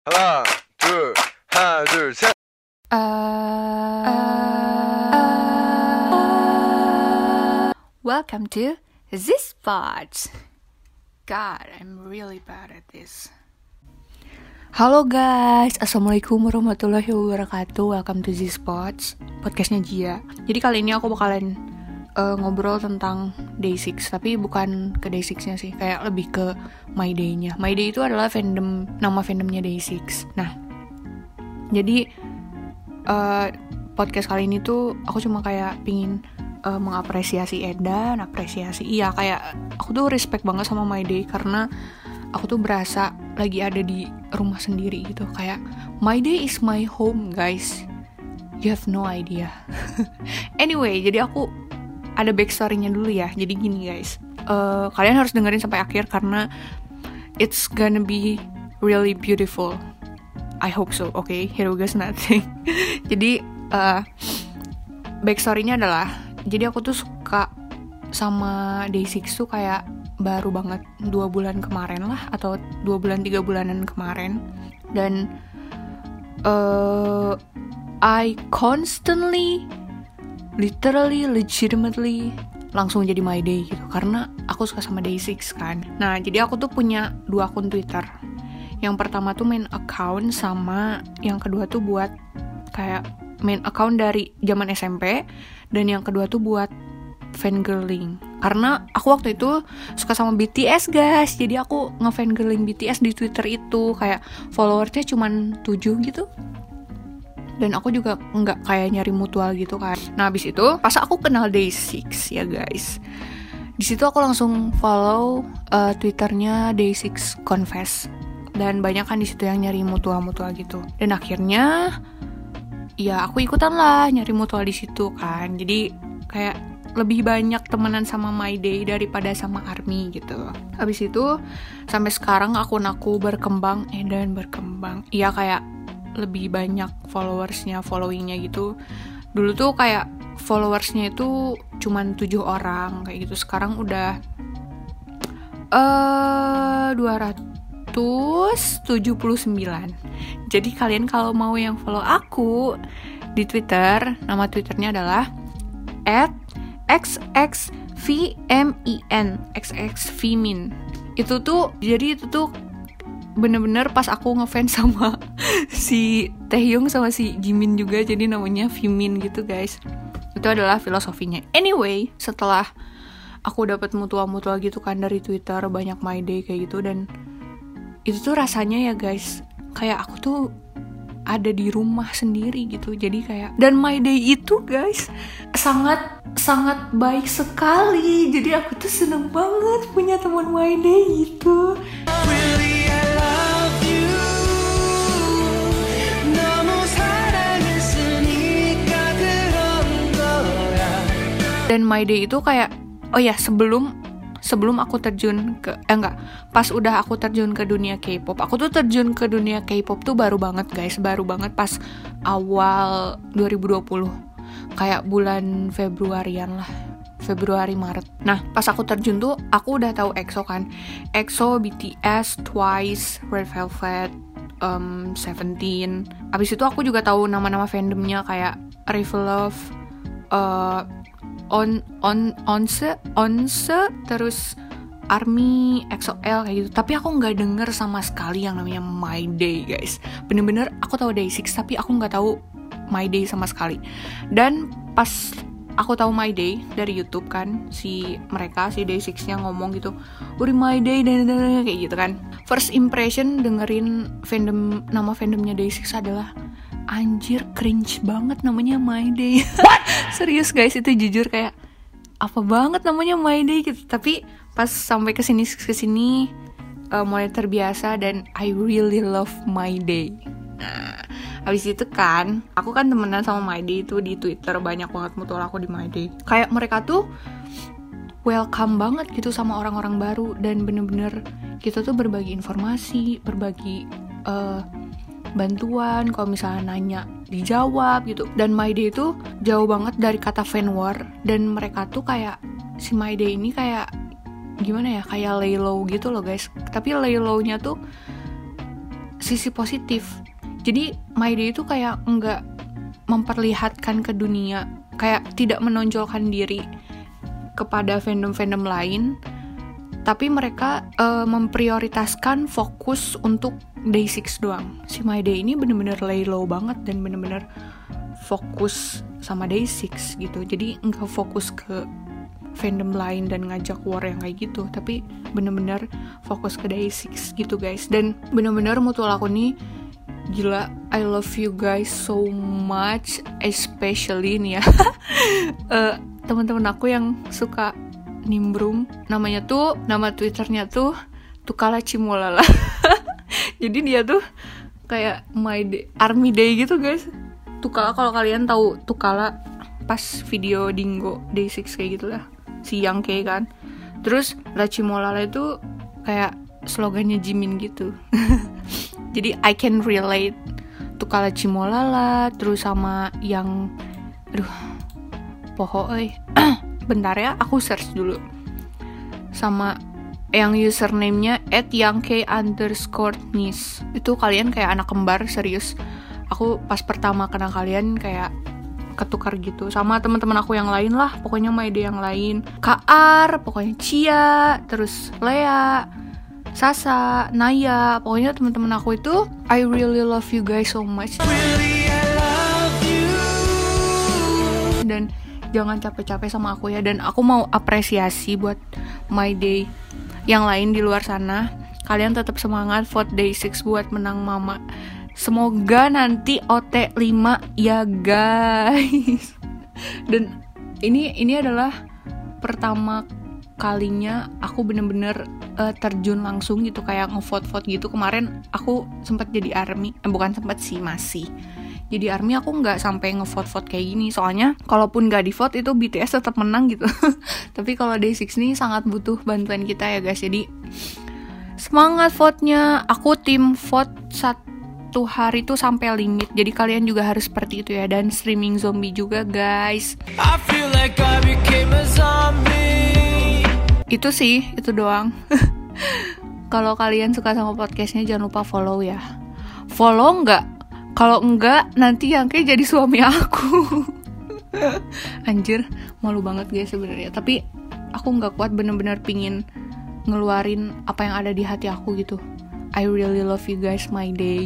하나, 둘, 셋. Welcome to this part. God, I'm really bad at this. Halo guys, assalamualaikum warahmatullahi wabarakatuh. Welcome to this part, podcastnya Jia. Jadi kali ini aku bakalan ngobrol tentang Day6, tapi bukan ke Day6-nya sih, kayak lebih ke My Day-nya. My Day itu adalah nama fandomnya Day6. Nah, jadi podcast kali ini tuh aku cuma kayak pingin mengapresiasi Edan, kayak aku tuh respect banget sama My Day karena aku tuh berasa lagi ada di rumah sendiri gitu. Kayak My Day is my home, guys. You have no idea. Anyway, jadi aku ada backstory-nya dulu ya. Jadi gini guys, kalian harus dengerin sampai akhir karena it's gonna be really beautiful. I hope so. Okay, here we go nothing. Jadi backstory-nya adalah, jadi aku tuh suka sama Day6 tuh kayak baru banget 2 bulan kemarin lah, atau 2 bulan 3 bulanan kemarin. Dan I constantly, literally, legitimately langsung jadi My Day gitu, karena aku suka sama Day6 kan. Nah, jadi aku tuh punya 2 akun Twitter. Yang pertama tuh main account, sama yang kedua tuh buat kayak main account dari zaman SMP, dan yang kedua tuh buat fangirling. Karena aku waktu itu suka sama BTS guys, jadi aku nge-fangirling BTS di Twitter itu, kayak followersnya cuman 7 gitu. Dan aku juga nggak kayak nyari mutual gitu kan. Nah, abis itu pas aku kenal Day6 ya guys, di situ aku langsung follow Twitternya Day6 Confess, dan banyak kan di situ yang nyari mutual gitu. Dan akhirnya ya aku ikutan lah nyari mutual di situ kan. Jadi kayak lebih banyak temenan sama My Day daripada sama ARMY gitu. Habis itu sampai sekarang akun aku berkembang dan berkembang. Iya, kayak lebih banyak followingnya gitu. Dulu tuh kayak followersnya itu cuman 7 orang kayak gitu. Sekarang udah 279. Jadi kalian kalau mau yang follow aku di Twitter, nama Twitternya adalah @xxvmin. Itu tuh bener-bener pas aku ngefans sama si Taehyung sama si Jimin juga, jadi namanya Vimin gitu guys. Itu adalah filosofinya. Anyway, setelah aku dapat mutual gitu kan dari Twitter, banyak My Day kayak gitu, dan itu tuh rasanya ya guys, kayak aku tuh ada di rumah sendiri gitu. Jadi kayak, dan My Day itu guys sangat baik sekali. Jadi aku tuh seneng banget punya teman My Day gitu. Dan My Day itu kayak, oh ya, sebelum aku terjun ke pas udah aku terjun ke dunia K-pop. Aku tuh terjun ke dunia K-pop tuh baru banget guys, pas awal 2020. Kayak bulan Februarian lah, Februari Maret. Nah, pas aku terjun tuh aku udah tahu EXO kan. EXO, BTS, Twice, Red Velvet, Seventeen. Abis itu aku juga tahu nama-nama fandomnya kayak Revelove, Onse, terus ARMY, EXO-L kayak gitu. Tapi aku nggak denger sama sekali yang namanya My Day guys. Bener-bener aku tahu Day6, tapi aku nggak tahu My Day sama sekali. Dan pas aku tahu My Day dari YouTube kan, si Day6-nya ngomong gitu, "Uri My Day," dan kayak gitu kan. First impression dengerin nama fandomnya Day6 adalah, anjir, cringe banget namanya My Day. Serius guys, itu jujur kayak apa banget namanya My Day gitu. Tapi pas sampai kesini mulai terbiasa, dan I really love My Day. Nah, habis itu kan aku kan temenan sama My Day itu di Twitter, banyak banget mutual aku di My Day. Kayak mereka tuh welcome banget gitu sama orang-orang baru, dan bener-bener kita tuh berbagi informasi, berbagi bantuan, kalau misalnya nanya dijawab gitu. Dan My Day itu jauh banget dari kata fan war, dan mereka tuh kayak, si My Day ini kayak gimana ya, kayak lay low gitu low guys. Tapi lay low-nya tuh sisi positif. Jadi My Day itu kayak nggak memperlihatkan ke dunia, kayak tidak menonjolkan diri kepada fandom-fandom lain, tapi mereka memprioritaskan fokus untuk Day6 doang. Si My Day ini bener-bener lay low banget dan bener-bener fokus sama Day6 gitu. Jadi nggak fokus ke fandom lain dan ngajak war yang kayak gitu, tapi bener-bener fokus ke Day6 gitu guys. Dan bener-bener mutual aku nih gila, I love you guys so much, especially nih ya teman-teman aku yang suka nimbrung, nama Twitternya tuh Tukala Cimolala. Jadi dia tuh kayak My Day, Army Day gitu guys. Tukala, kalau kalian tahu Tukala pas video Dingo Day6 kayak gitu lah, si Yang Kei kan. Terus La Cimolala itu kayak slogannya Jimin gitu. Jadi I can relate Tukala Cimolala, terus sama yang bentar ya, aku search dulu. Sama yang username-nya @yangk_nis. Itu kalian kayak anak kembar, serius. Aku pas pertama kenal kalian kayak ketukar gitu sama teman-teman aku yang lain lah, pokoknya My Day yang lain. Kar, pokoknya Cia, terus Lea, Sasa, Naya, pokoknya teman-teman aku itu I really love you guys so much. Really, I love you. Dan jangan capek-capek sama aku ya. Dan aku mau apresiasi buat My Day yang lain di luar sana. Kalian tetap semangat vote Day6 buat menang Mama. Semoga nanti OT 5 ya guys. Dan ini adalah pertama kalinya aku bener-bener terjun langsung gitu, kayak ngevote-vote gitu. Kemarin aku sempat jadi ARMY, bukan sempat sih, masih jadi ARMY. Aku nggak sampai ngevote-vote kayak gini, soalnya kalaupun nggak di vote itu BTS tetap menang gitu. Tapi kalau Day6 ini sangat butuh bantuan kita ya guys, jadi semangat vote-nya. Aku tim vote 1 hari tuh sampai limit, jadi kalian juga harus seperti itu ya. Dan streaming zombie juga guys. I feel like I became a zombie. Itu sih, itu doang. Kalau kalian suka sama podcastnya jangan lupa follow ya. Follow nggak? Kalau enggak nanti yang kayak jadi suami aku. Anjir, malu banget guys sebenarnya. Tapi aku nggak kuat, bener-bener pingin ngeluarin apa yang ada di hati aku gitu. I really love you guys, My Day.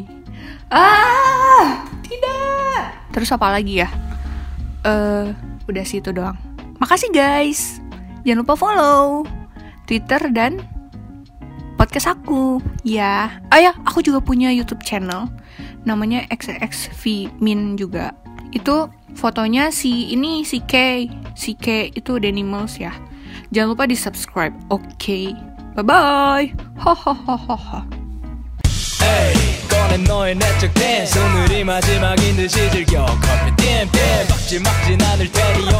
Tidak. Terus apa lagi ya? Udah sih itu doang. Makasih guys. Jangan lupa follow Twitter dan podcast aku ya. Aku juga punya YouTube channel namanya XXVmin juga. Itu fotonya si K itu Danimals ya. Jangan lupa di subscribe. Oke. Bye bye. 꺼낸 너의 내적 댄스 오늘이 마지막인 듯이 즐겨 커피 땜땜 박지 막진 않을 테니